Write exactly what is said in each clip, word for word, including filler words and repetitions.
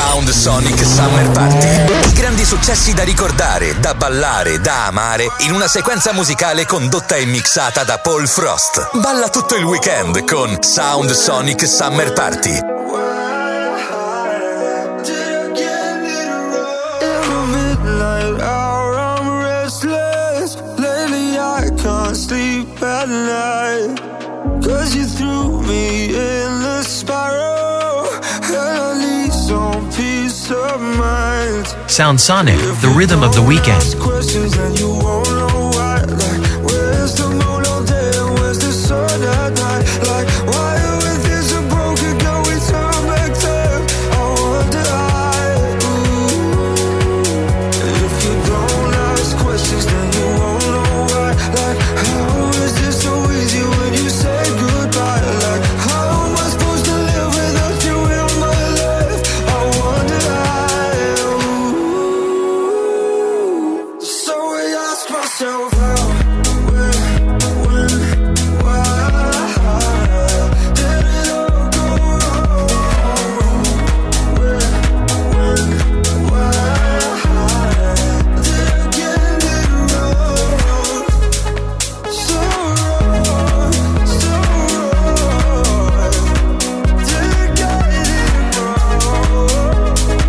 Sound Sonic Summer Party. I grandi successi da ricordare, da ballare, da amare in una sequenza musicale condotta e mixata da Paul Frost. Balla tutto il weekend con Sound Sonic Summer Party. Sleep at night, 'cause you threw me in the spiral, and I need some peace of mind. Sound Sonic, the rhythm of the weekend. Questions and you won't know why. Like, where's the moon all day and where's the sun at night? Like, why are we this so broken? Can we turn back time? I wonder why. Ooh. If you don't ask questions, then you won't know why. Like, how is this so easy when you say goodbye? Like, how am I supposed to live without you in my life? I wonder why. Ooh. So I ask myself how, where, when, why did it all go wrong? Where, when, why did I get it wrong? So wrong, so wrong. Did I get it wrong?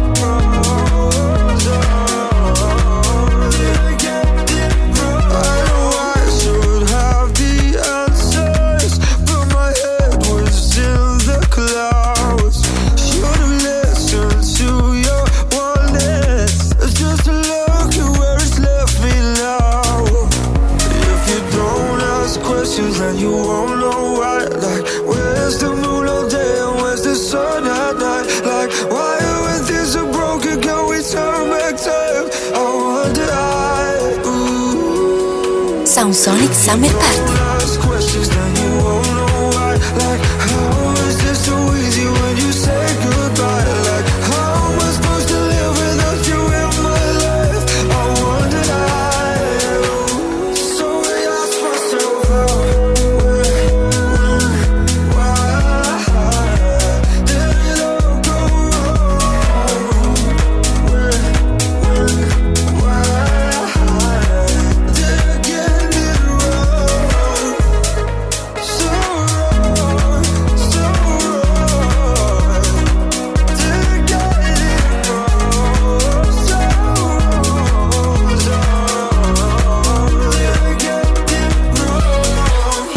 So did I get it wrong? I know I should have the answers, but my head was in the clouds. Should have listened to your warnings. It's just a look at where it's left me now. If you don't ask questions, then you won't know why. Like, where's the moon all day and where's the sun at night? Like, why are we this so broken? Can we turn back time? I wonder why. Ooh. Sound Sonic Summer Party. Ask questions, then you won't know why. Like, how is this so easy when you say goodbye? Like, how am I supposed to live without you in my life? I wonder why. So I ask myself how, where, when, why did it all go wrong? Where, when, why did I get it wrong? So wrong, so wrong. Did I get it wrong? So wrong, so wrong. Did I get it wrong?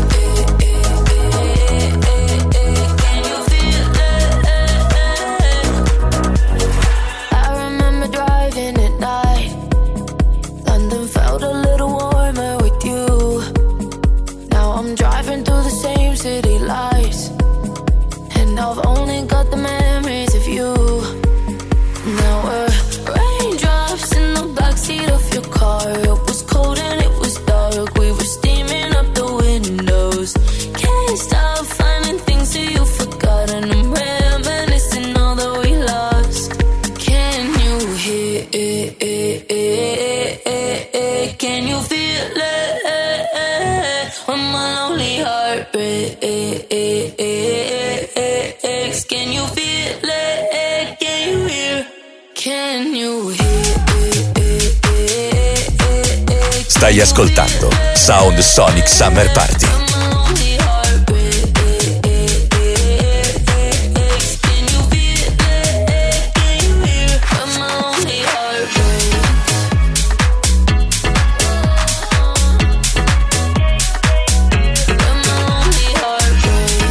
I remember driving at night. London felt a little warmer with you. Now I'm driving through the same city lights, and I've only got the memories of you. Now we're raindrops in the backseat of your car. It was cold and it was dark. We were steaming up the windows. Can't stop finding things that you forgot, and I'm reminiscing all that we lost. Can you hear it? Can you feel it? When my lonely heart breaks. Can you feel it? Can you hear? Can you hear? Stai ascoltando Sound Sonic Summer Party. When my lonely heart breaks. Can you feel it? Can you hear? When my lonely heart breaks. When my lonely heart breaks.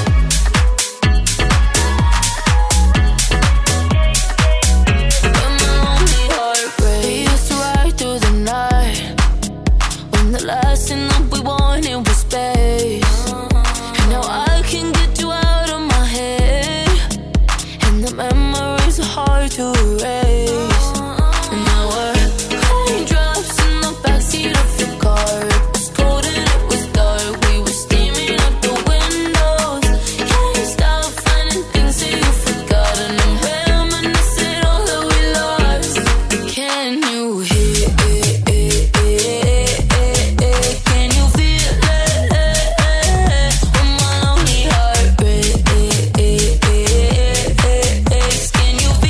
When my lonely heart breaks. We used to ride through the night, when the last thing that we wanted was space. And now I can get you out of my head, and the memories are hard to erase. And now we're raindrops in the backseat of your car. It was cold and it was dark. We were steaming up the windows. Can't stop finding things that you forgot, and I'm reminiscing all that we lost. Can you hear? Can you feel it? When my lonely heart breaks. Can you feel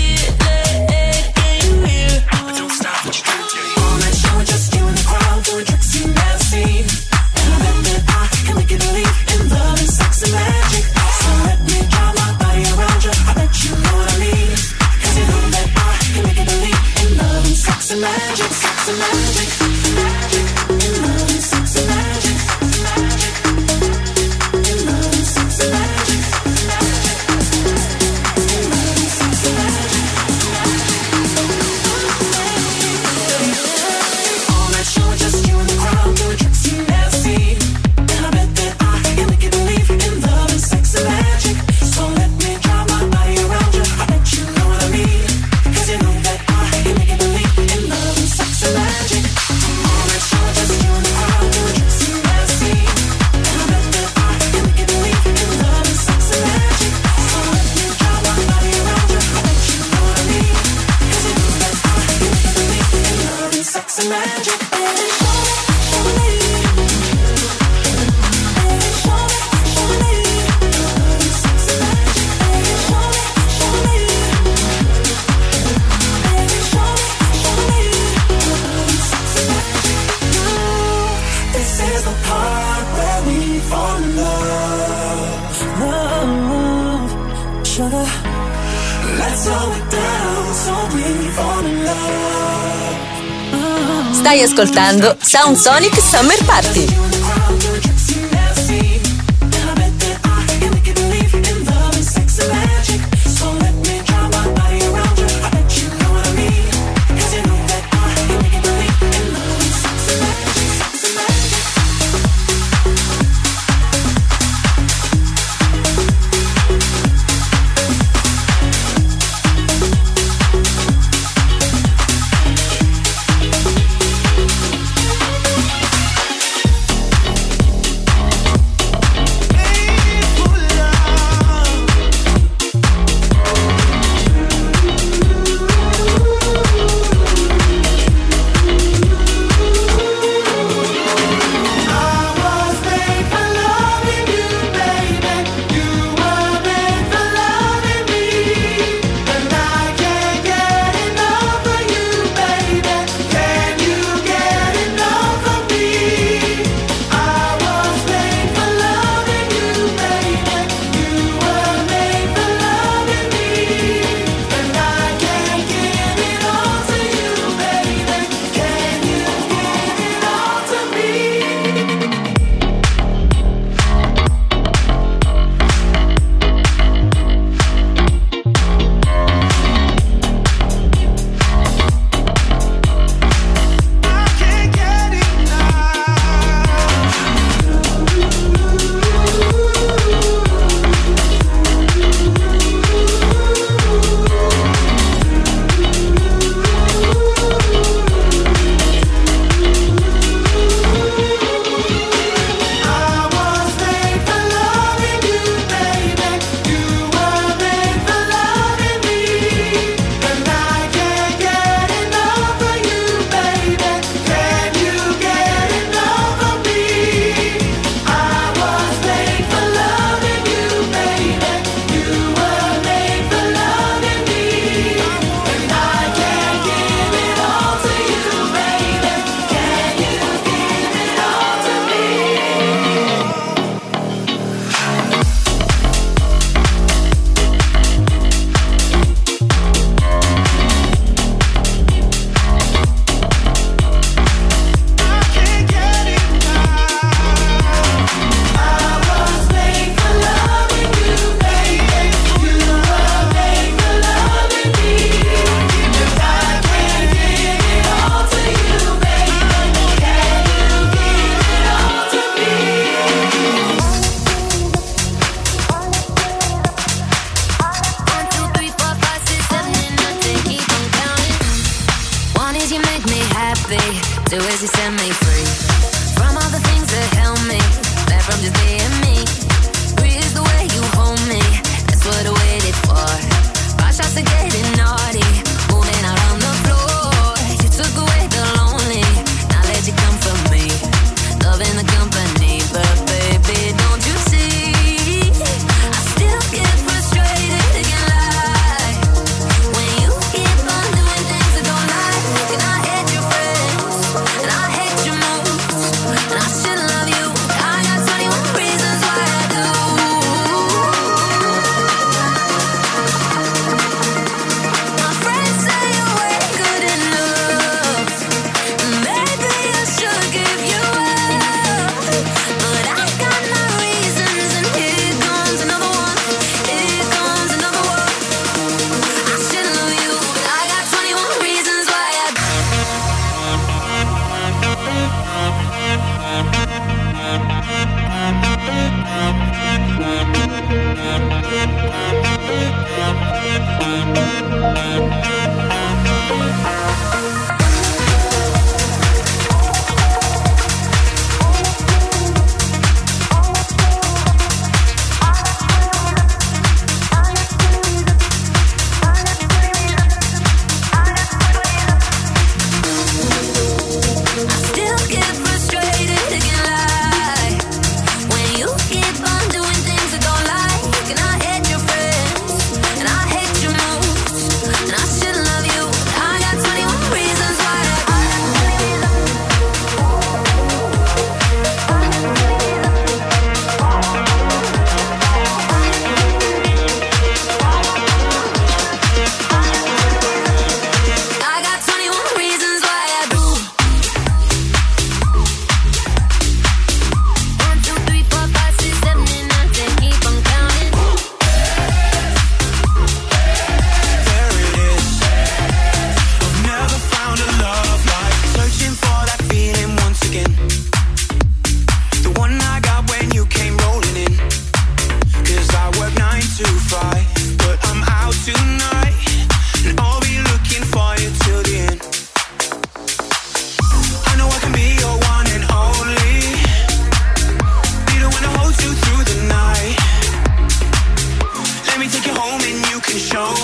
Stai ascoltando Sound Sonic Summer Party.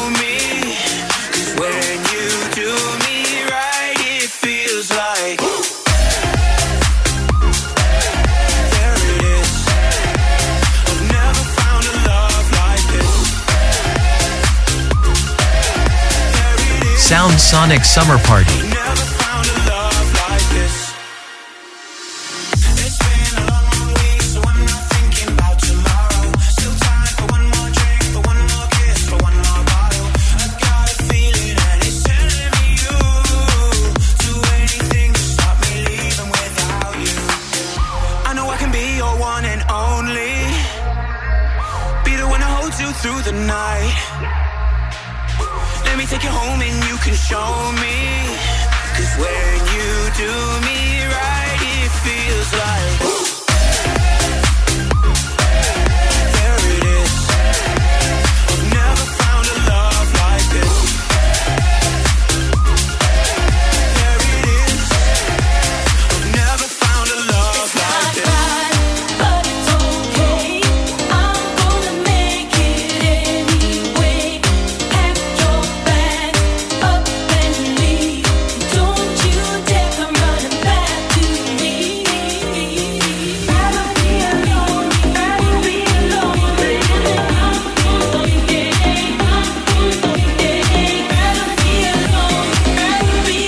me. 'Cause when you do me right, it feels like there it is. I've never found a love like this. There it is. Sound Sonic Summer Party. Never found a love like this. It's been a long, long week, so I'm not thinking about tomorrow. Still time for one more drink, for one more kiss, for one more bottle. I got a feeling and it's telling me you do anything to stop me leaving without you. I know I can be your one and only, be the one to hold you through the night. Let me take you home and you can show me. 'Cause when you do me right, it feels like there it is. I've never found a love like this. There it is. I've never found a love like this. But it's okay. I'm gonna make it anyway. Pack your bags up and leave. Don't you dare come running back to me. Rather be alone, rather be alone. Rather be alone, rather be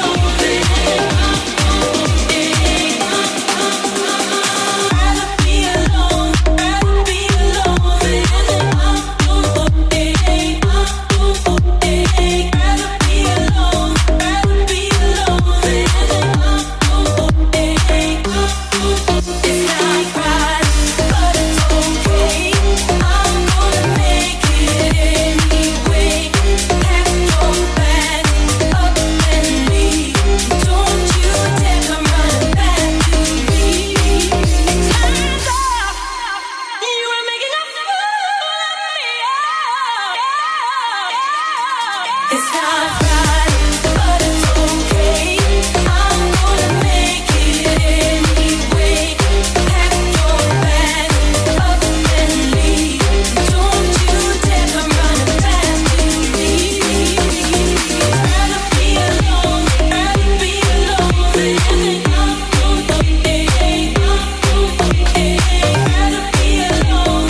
It's not right, but it's okay. I'm gonna make it anyway. Pack your bags up and leave. Don't you dare come running back to me. Rather be alone, rather be alone. Rather be alone, rather be alone.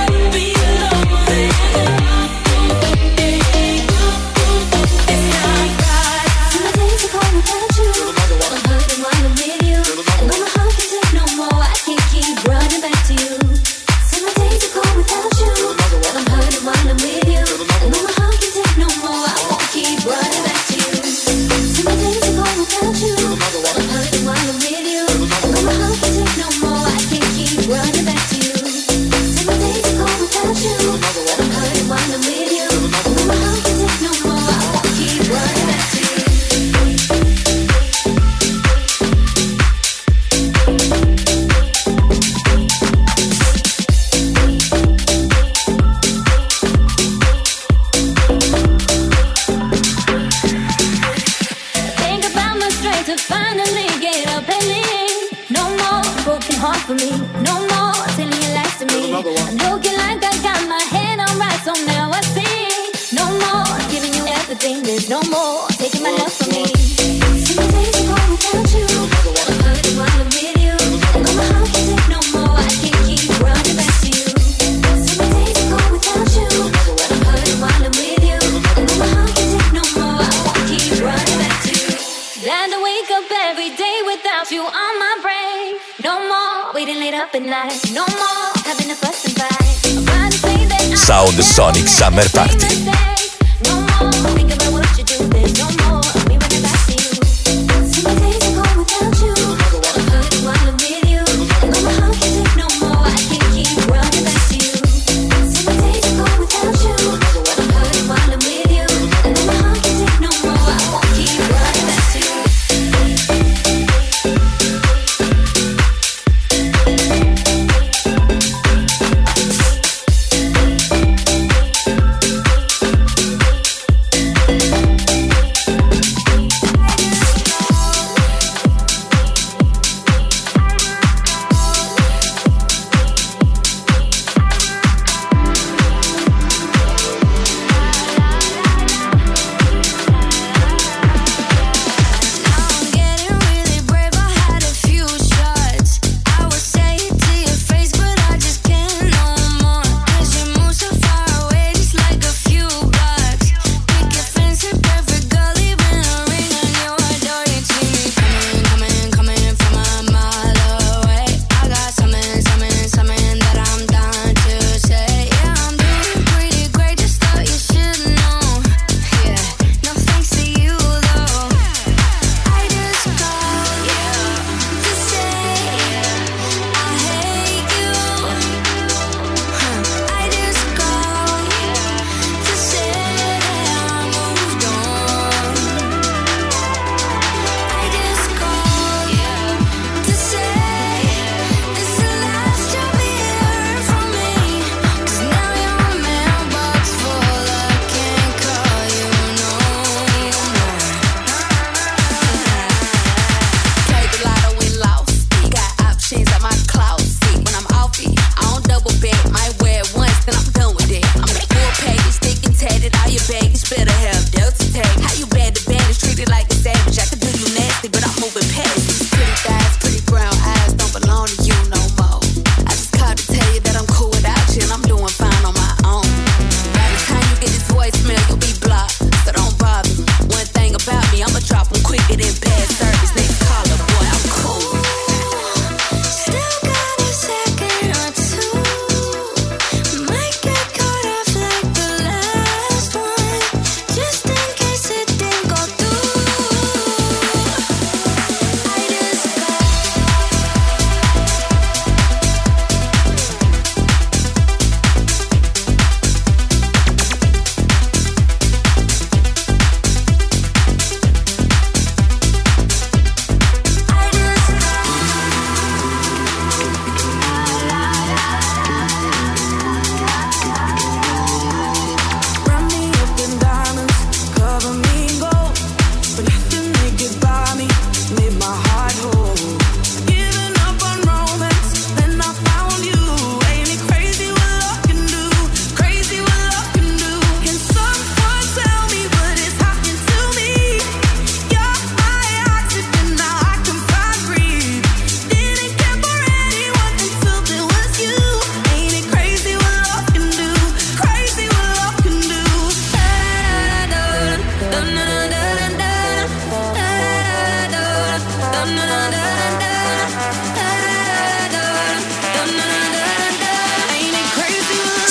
For me, no more telling your lies to me. I'm looking like I got my head on right, so now I see. No more giving you everything. There's no more taking my love from me. See my days are gone without you. I'm hurting while I'm with you. I know my heart can't take no more. I can't keep running back to you. See my days are gone without you. I'm hurting while I'm with you. I know my heart can't take no more. I won't keep running back to you. Glad to wake up every day without you on my brain. No more waiting late up at night. No more having a fuss and fight. Sound Sonic Summer Party. No more think about what you do. There's no more me running back to you. See my days are gone without you. I'm hurting while I'm with you. I know my heart can't take no more. I can't keep running back to you. See my days are gone without you. I'm hurting while I'm with you. I know my heart can't take no more. I won't keep running back to you.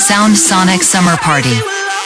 Sound Sonic Summer Party.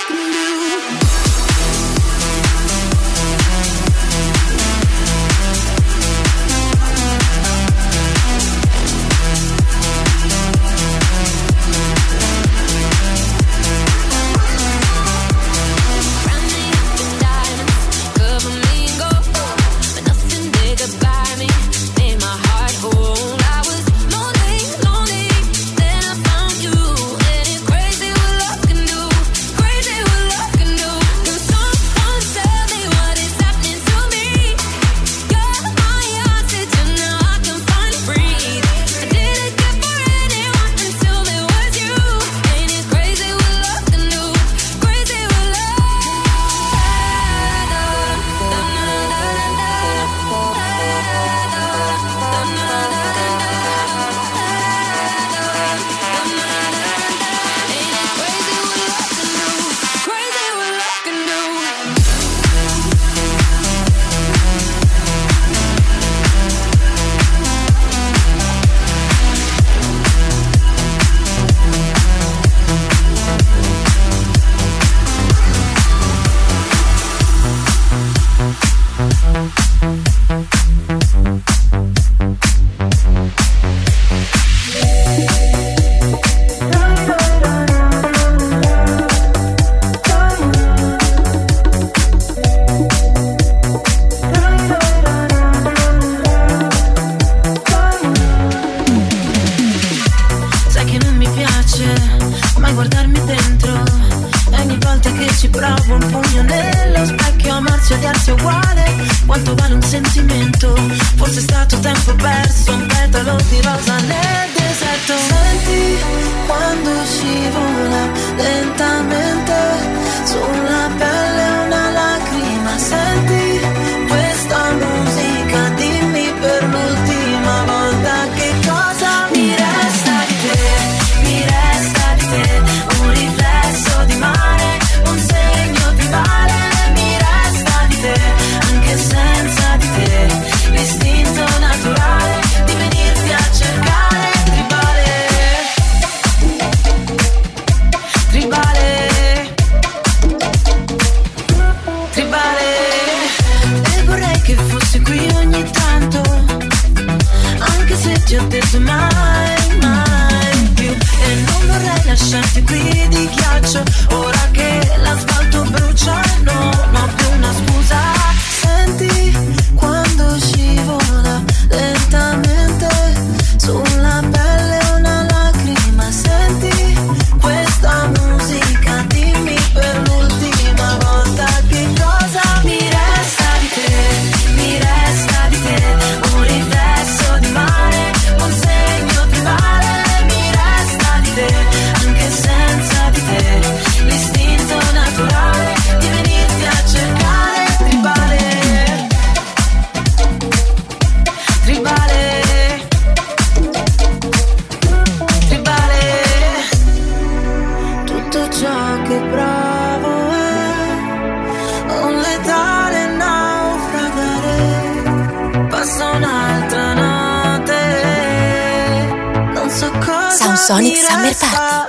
Sonic Summer Party.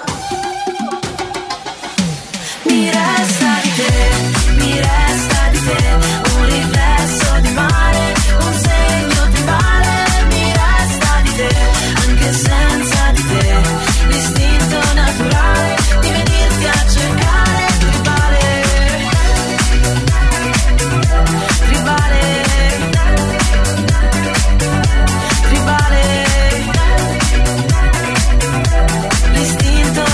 Mi resta di te, mi resta di te, un riflesso di mare, un segno tribale. Mi resta di te, anche senza di te, l'istinto naturale di venirti a cercare. Tribale, tribale, tribale, l'istinto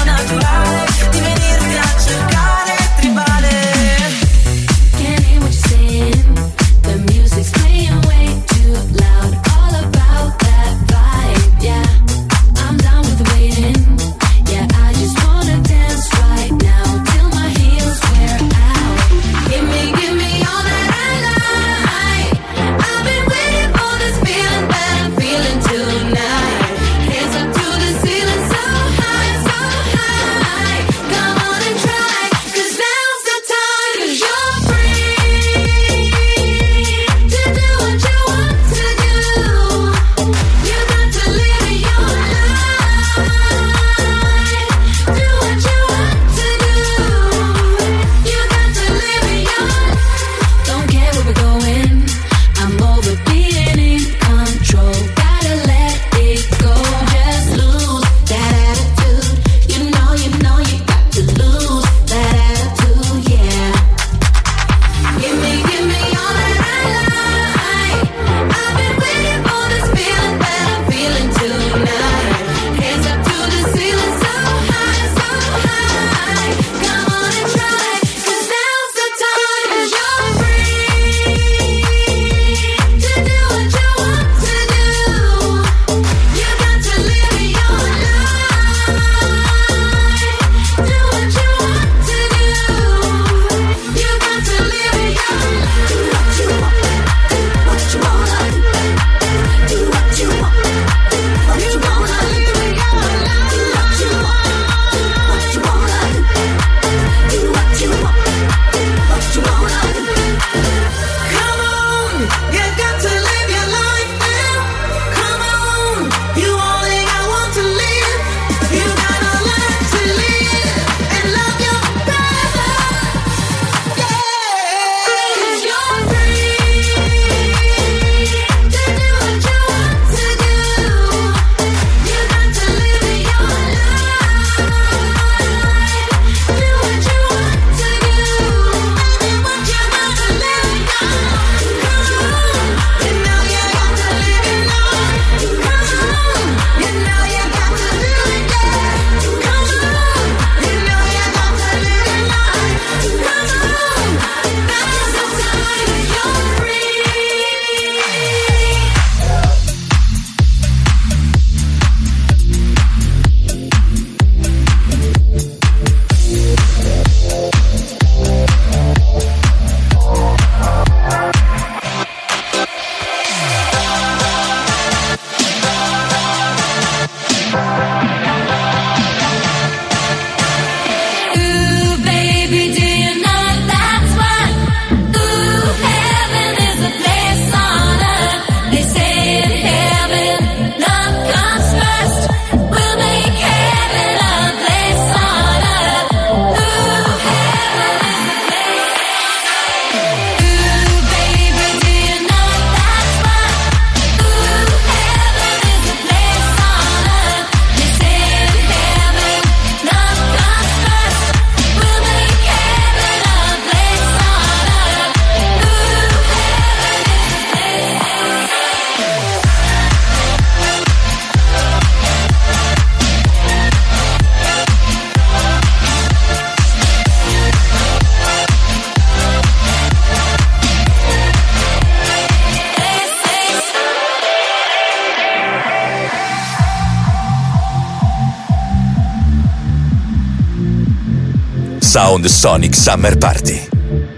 Sound Sonic Summer Party.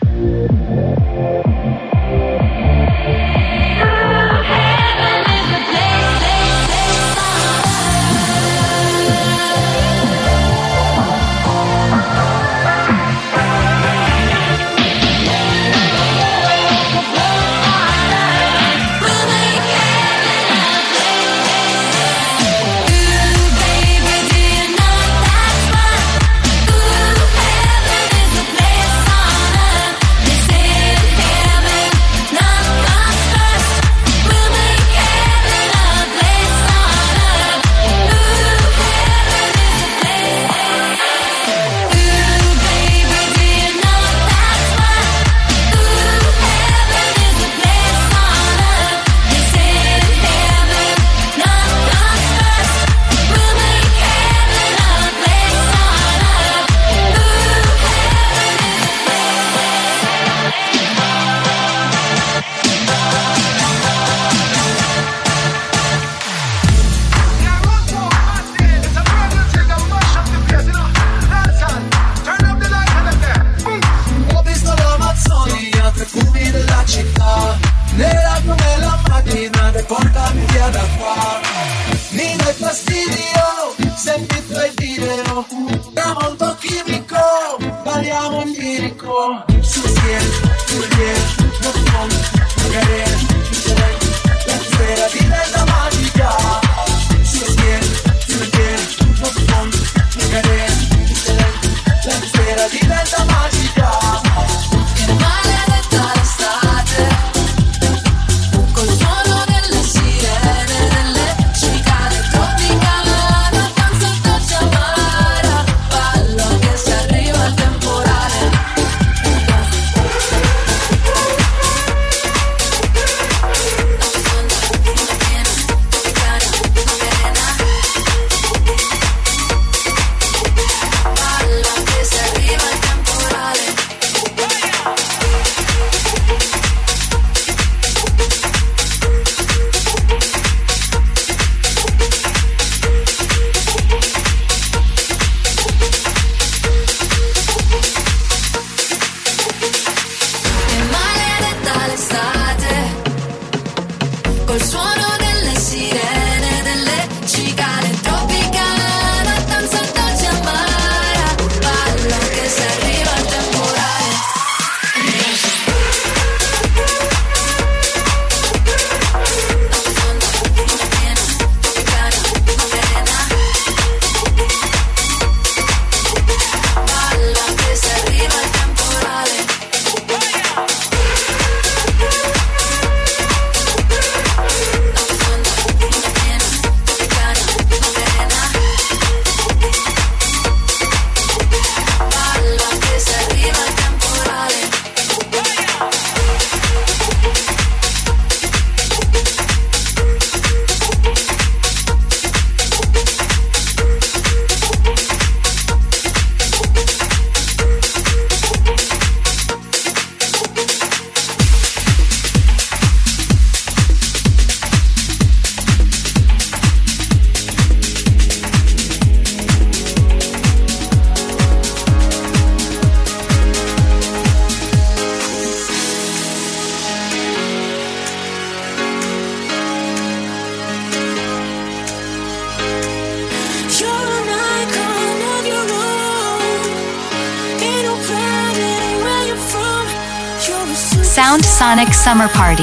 Sound Sonic Summer Party.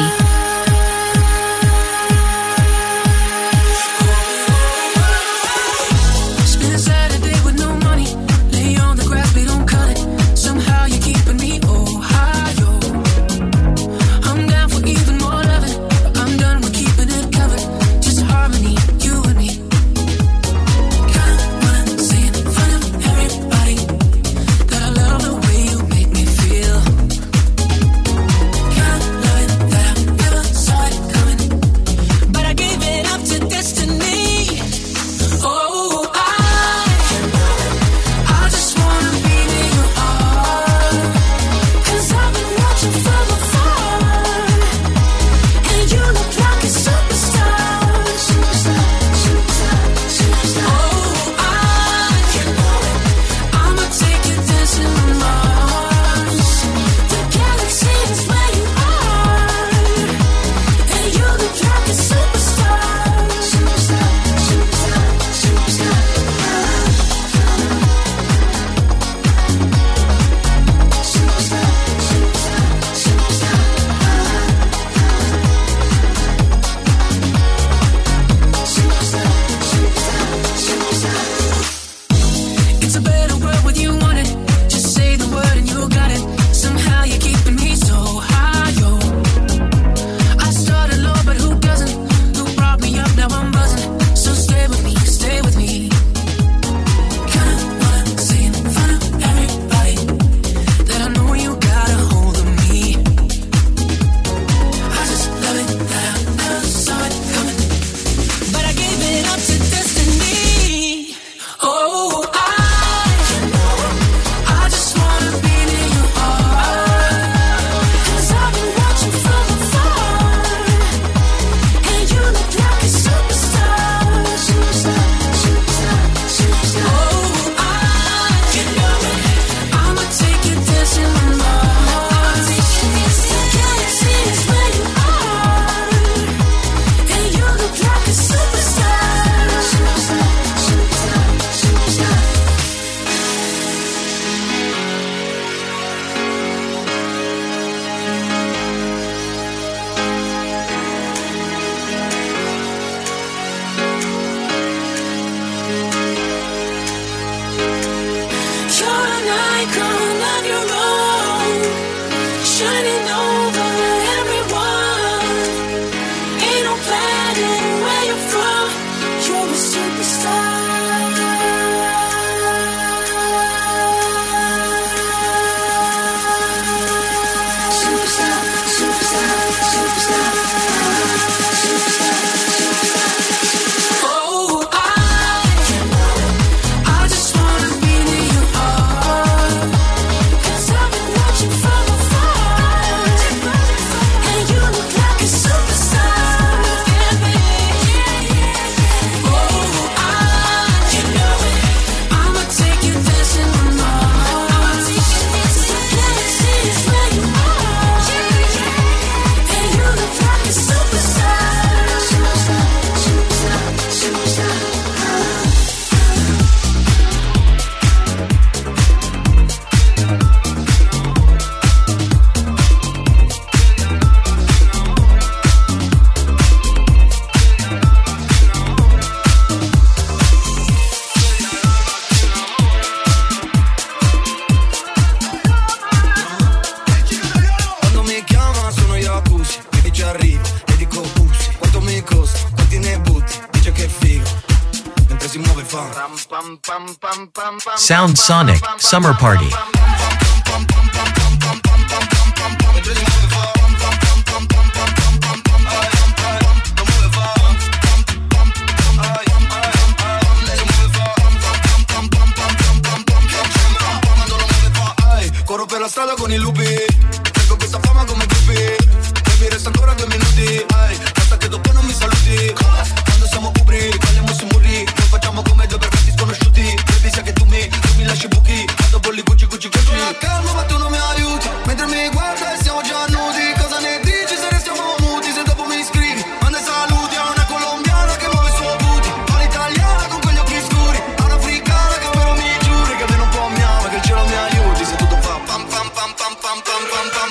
Feel Sound Sonic Summer Party. Corro per la strada con i lupi, tengo questa fama come Guppy. Mi resta ancora due minuti, ai, basta che dopo non mi saluti. Quando siamo ubri, balliamo sui muri, non facciamo come due perfetti sconosciuti. Baby sai che tu mi, tu mi lasci buchi, vado bolli Gucci, Gucci, Gucci. Con la calma ma tu non mi aiuti, mentre mi guarda e siamo già nudi. Cosa ne dici se restiamo muti, se dopo mi scrivi? Manda saluti a una colombiana che muove il suo booty, a un'italiana con quegli occhi scuri, a un'africana che spero mi giuri che almeno un po' mi ama, che il cielo mi aiuti. Se tutto fa pam pam pam pam pam pam pam pam.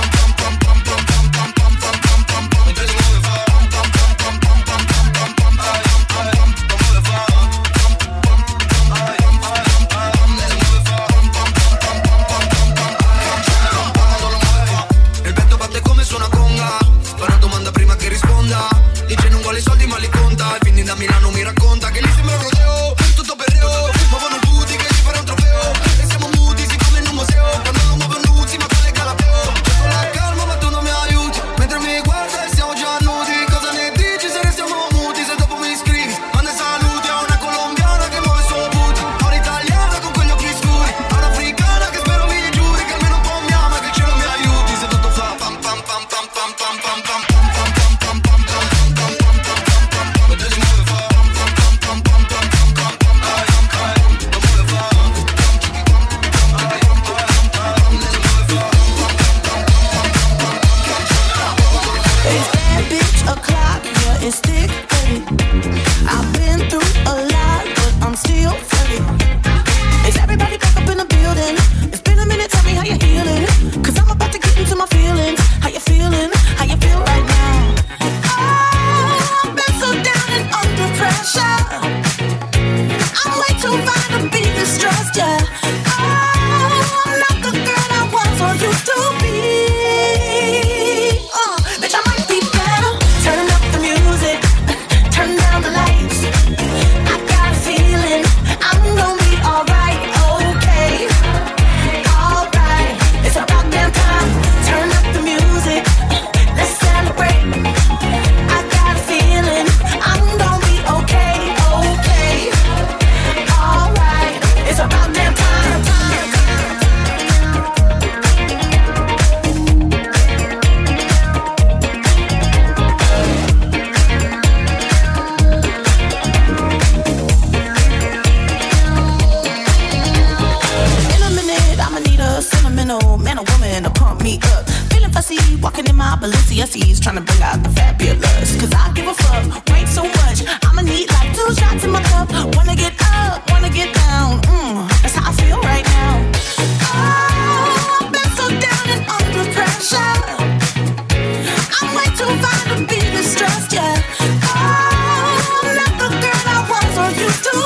Dice non vuole soldi ma li conta, e quindi da Milano mi racconta che lì sembra un rodeo, tutto perreo, muovono il booty che gli farà un trofeo, e siamo muti siccome in un museo, quando non muovo nuzzi ma quale Galateo. Con la calma ma tu non mi aiuti, mentre mi guarda e siamo già nudi. Cosa ne dici se restiamo muti, se dopo mi scrivi? Manda saluti a una colombiana che muove il suo booty, a un'italiana con quegli occhi scuri, a un'africana che spero mi giuri che almeno un po' mi ama, che il cielo mi aiuti. Se tutto fa pam pam pam pam pam pam pam pam. It's thick, baby. I've been through a lot, but I'm still ready. Is everybody back up in the building? It's been a minute, tell me how you're healing. Cause I'm about to get into my feelings. How you feeling? How you feel right now? Oh, I've been so down and under pressure. I'm way too fine to be distressed, yeah. Oh, I'm not the girl I was or used to be. Oh, bitch, I might be better. Turn up the music, turn down the lights. I got a feeling I'm gonna be alright, okay. Alright, it's about damn time. Turn up the music, let's celebrate. I got a feeling I'm gonna be okay, okay. Alright, it's about damn time. Sentimental man or woman to pump me up. Feeling fussy, walking in my Balenciennes, trying to bring out the fabulous. Cause I give a fuck, wait so much. I'ma need like two shots in my cup. Wanna get up, wanna get down. Mm, that's how I feel right now. Oh, I've been so down and under pressure. I'm way too fine to be distressed, yeah. Oh, I'm not the girl I was or used to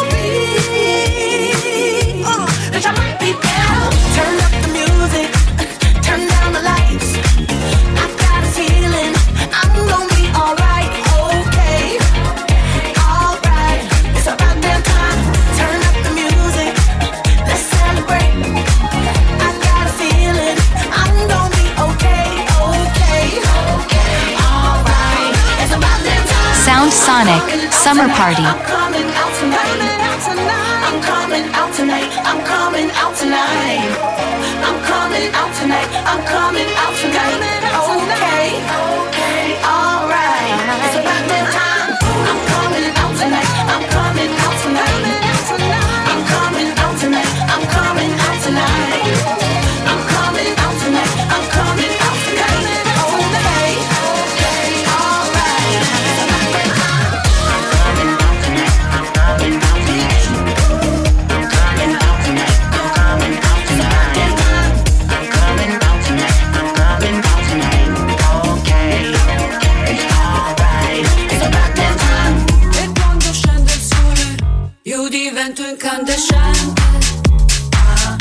be. Oh, bitch, I might be better. Turn up the music, turn down the lights. I've got a feeling I'm gonna be alright, okay. Alright, it's about damn time. Turn up the music, let's celebrate. I got a feeling I'm gonna be okay, okay. Alright, it's about damn time. Sound Sonic Summer Party. I'm coming out tonight. I'm coming out tonight. I'm coming out tonight. I'm coming out tonight. I'm coming out tonight. Okay, okay, alright. It's about that time. I'm coming out tonight. I'm coming out tonight. I'm coming out tonight. I'm coming out tonight. I'm coming out tonight. I'm coming out tonight. Okay, okay, alright. It's about that time. I'm coming out tonight. I'm coming out tonight. I'm coming out tonight. I'm coming out tonight. I'm coming out tonight. I'm coming out tonight. Okay, okay, alright. It's about that time. E quando scende il sole, io divento incandescente. Ah.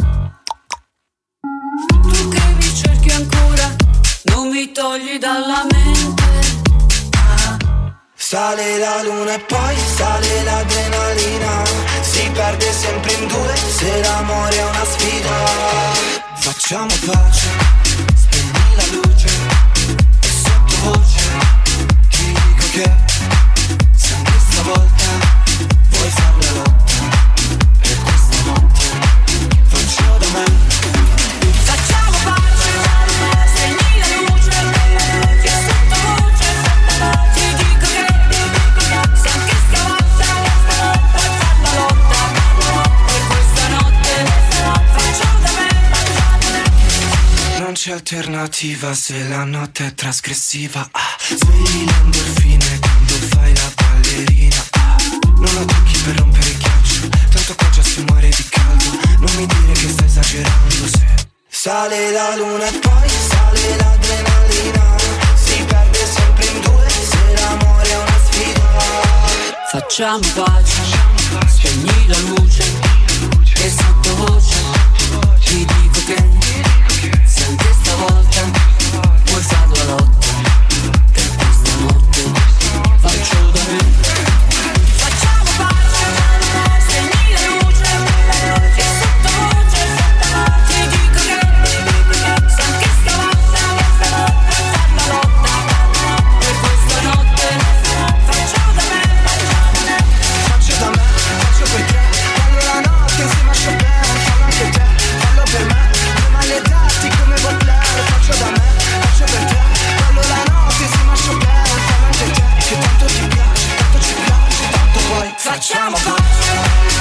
Tu che mi cerchi ancora, non mi togli dalla mente. Ah. Sale la luna e poi sale l'adrenalina, si perde sempre in due se l'amore è una sfida. Facciamo pace, spegni la luce e sottovoce ti dico che se anche stavolta vuoi far la lotta per questa notte, faccio da me. Facciamo pace, spegni la luce e sottovoce ti dico che se anche stavolta vuoi far la lotta per questa notte, faccio da me. Non c'è alternativa se la notte è trasgressiva. Ah, svegli le endorfine quando fai la ballerina. Ah, non la tocchi per rompere il ghiaccio, tanto qua già si muore di caldo. Non mi dire che stai esagerando se sale la luna e poi sale l'adrenalina, si perde sempre in due se l'amore è una sfida. Facciamo pace, spegni la luce e sottovoce ti dico che se anche stavolta vuoi fare la lotta per questa notte, faccio da me. Facciamo pace, spegni la luce e sottovoce ti dico che se anche stavolta vuoi fare la lotta per questa notte, faccio da me. Faccio da me, faccio per te, quando la notte insieme a Chopin, fallo anche te, fallo per me, due maledetti come Baudelaire. Faccio da me, faccio per te, quando la notte insieme a Chopin, fallo anche te, che tanto ti piace, tanto ci piace, tanto poi facciamo pace.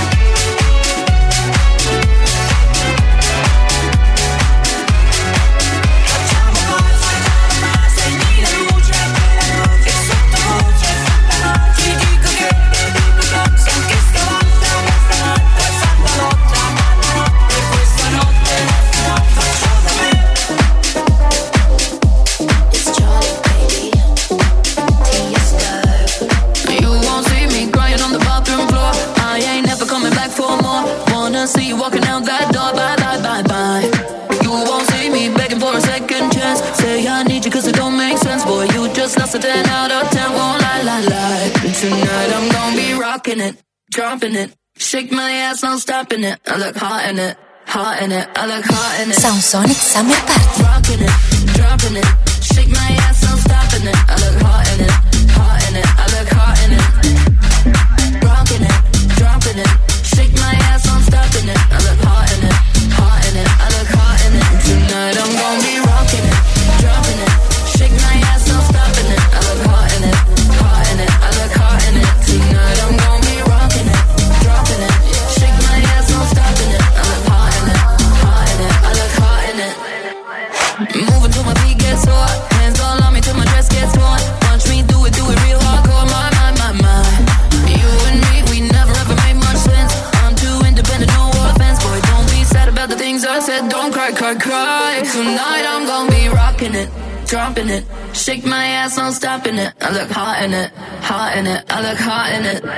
Facciamo pace, spegni la luce e sottovoce ti dico che se anche stavolta vuoi far la lotta per questa notte, faccio da me. It's Charlie, baby. Tiesto. You won't see me crying on the bathroom floor. I ain't never coming back for more. Wanna see you walking out that door. Bye, bye, bye, bye. You won't see me begging for a second chance. Say I need you cause it don't make sense. Boy, you just lost a ten out of ten. Won't lie, lie, lie. Tonight I'm gonna be rocking it, dropping it. Shake my ass, no stopping it. I look hot in it, hot in it. I look hot in it. Sound Sonic Summer Party. Rocking it, dropping it. Shake my ass, no stopping it. I look hot in it, hot in it. I look hot in it. Rocking it, dropping it. Shake my ass, no stopping it. I look hot in it, hot in it. I look hot in it. Tonight I'm gonna be rocking it, dropping it. Shake my ass, no stopping it. I look hot in it, hot in it. I look hot in it. Tonight I'm gonna be rocking it, dropping it. Shake my ass, no stopping it. I look hot in it, hot in it. I look hot in it. Moving till my feet get sore. Hands all on me till my dress gets torn. Watch me do it, do it real hardcore. My, my, my, my. You and me, we never ever made much sense. I'm too independent, no offense. Boy, don't be sad about the things I said. Don't cry, cry, cry. Tonight I'm gonna be rocking it, dropping it. Shake my ass, no stopping it. I look hot in it, hot in it. I look hot in it.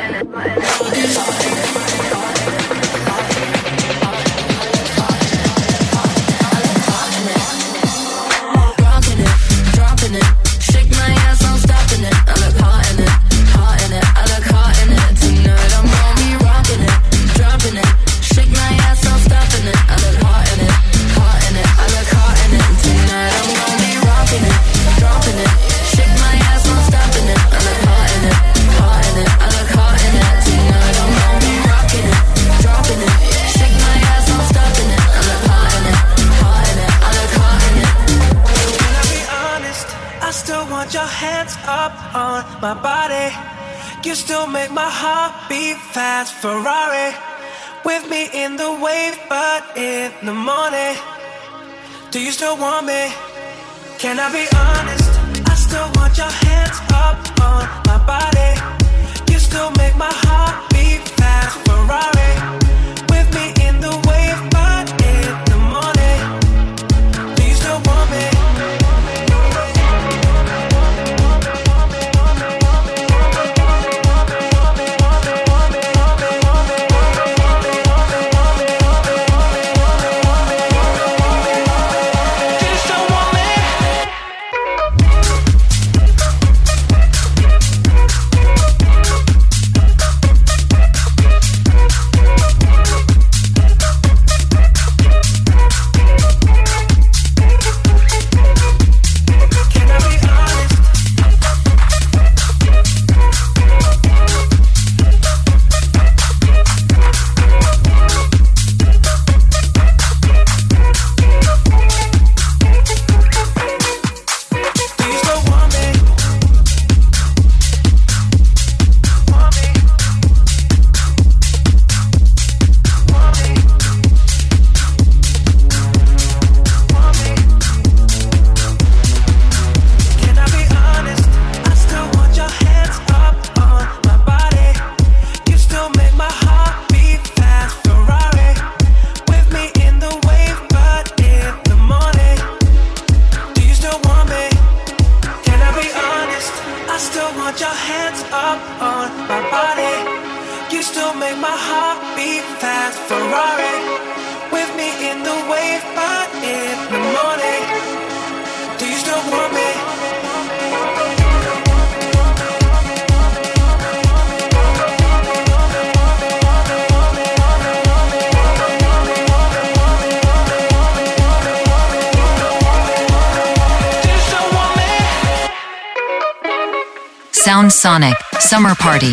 Rocking it, dropping it. Shake my ass, no stopping it. I look hot in it, hot in it. I look hot in it. Tonight I'm gonna be rocking it, dropping it. Shake my ass, no stopping it. I look hot in it, hot in it. I look hot in it. Tonight I'm gonna be rocking it, dropping it. Shake my ass, no stopping it. I look hot in it, hot in it. I look hot in it. Tonight I'm gonna be rocking it, dropping it. Shake my ass, no stopping it. I look hot in it, hot in it. I look hot in it. Can I be honest? I still want your hands up on my body. You still make my heart beat fast. Ferrari with me in the wave, but in the morning. Do you still want me? Can I be honest? I still want your hands up on my body. You still make my heart beat fast. Ferrari with me in the wave, but in the morning. Do you still want me? Do you still want me? want your hands up on my body. You still make my heart beat fast. Ferrari with me in the wave, but in the morning. Do you still want me? Sound Sonic Summer Party.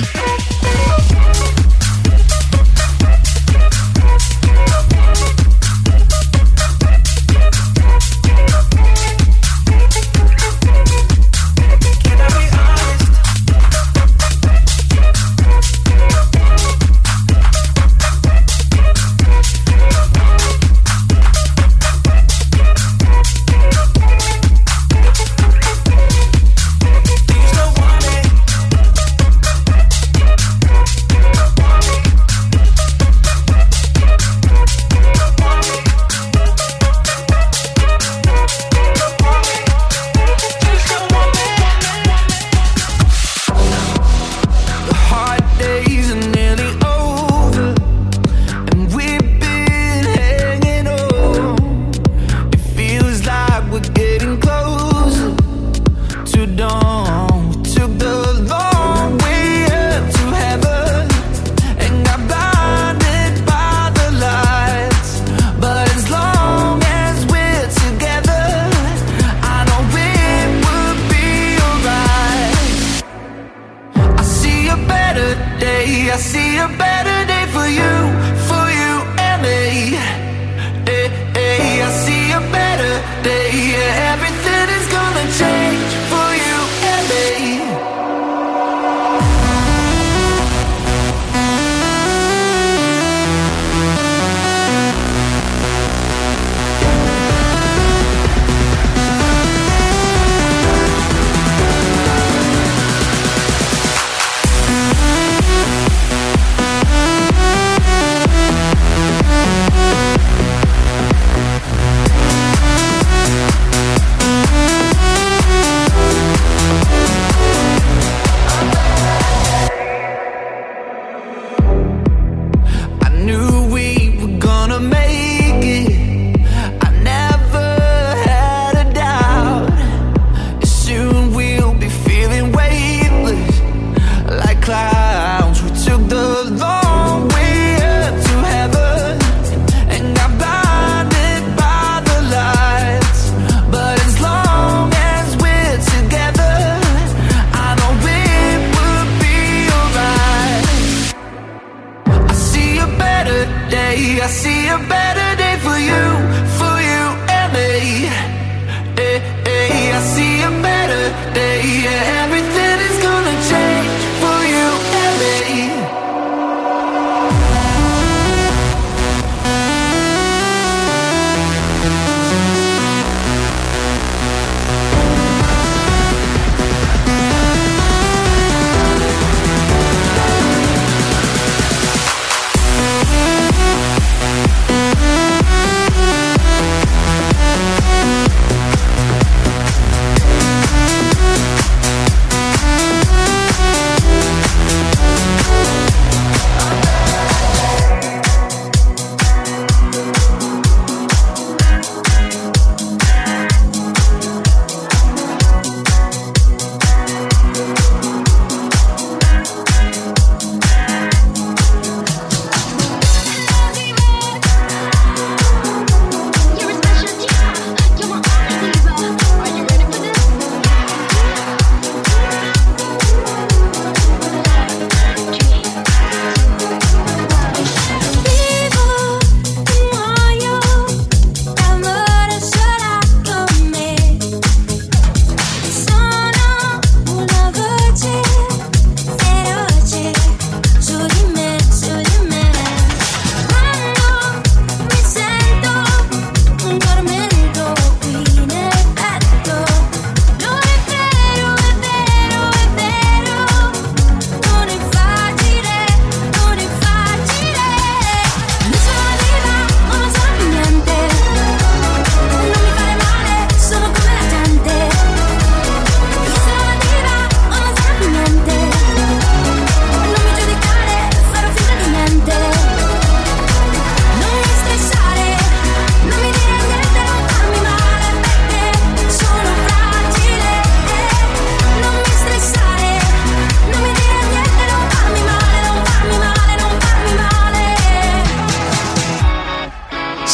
I see a better day for you, for you and me. Hey, hey, I see a better day. Yeah, everything is gonna change for you and me.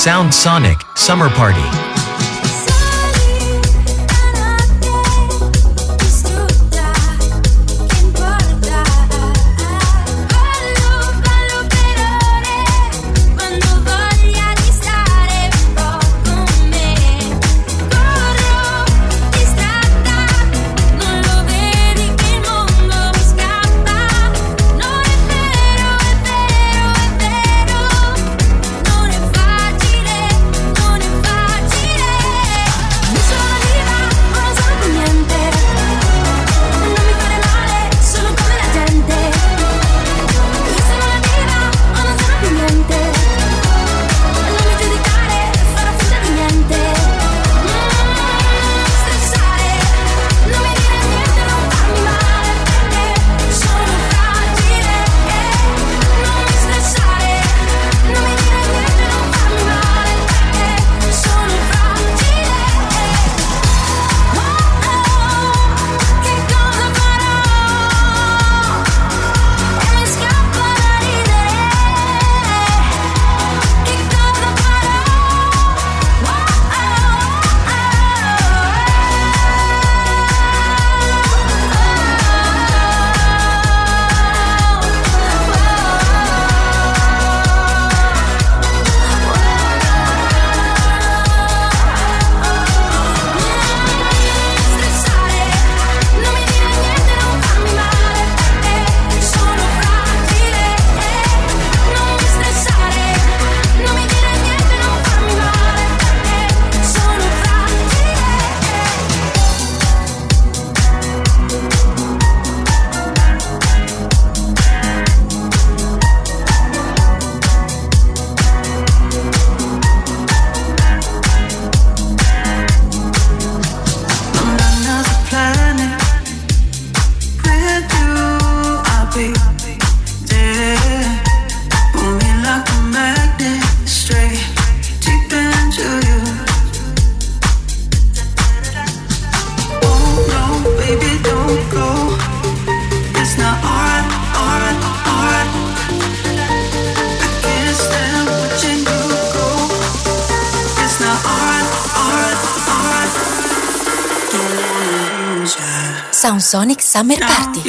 Sound Sonic Summer Party. Sound Sonic Summer Party.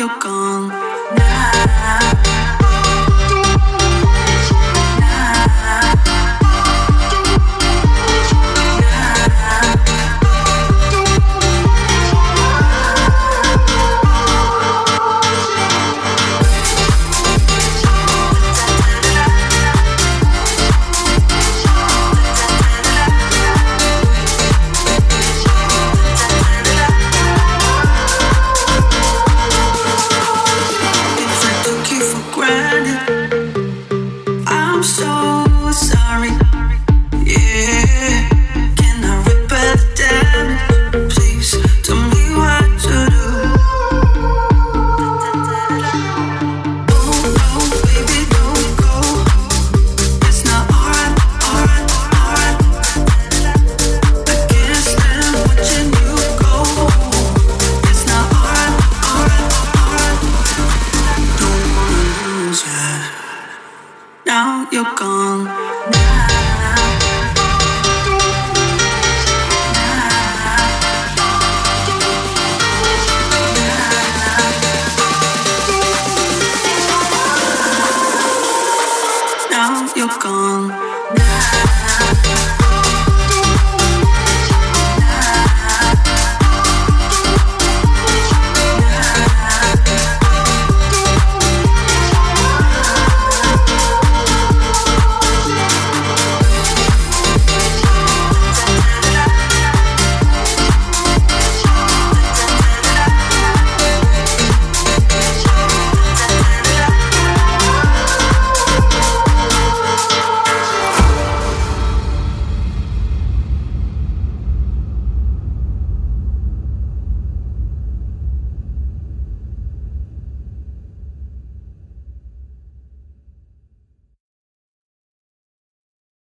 Now you're gone.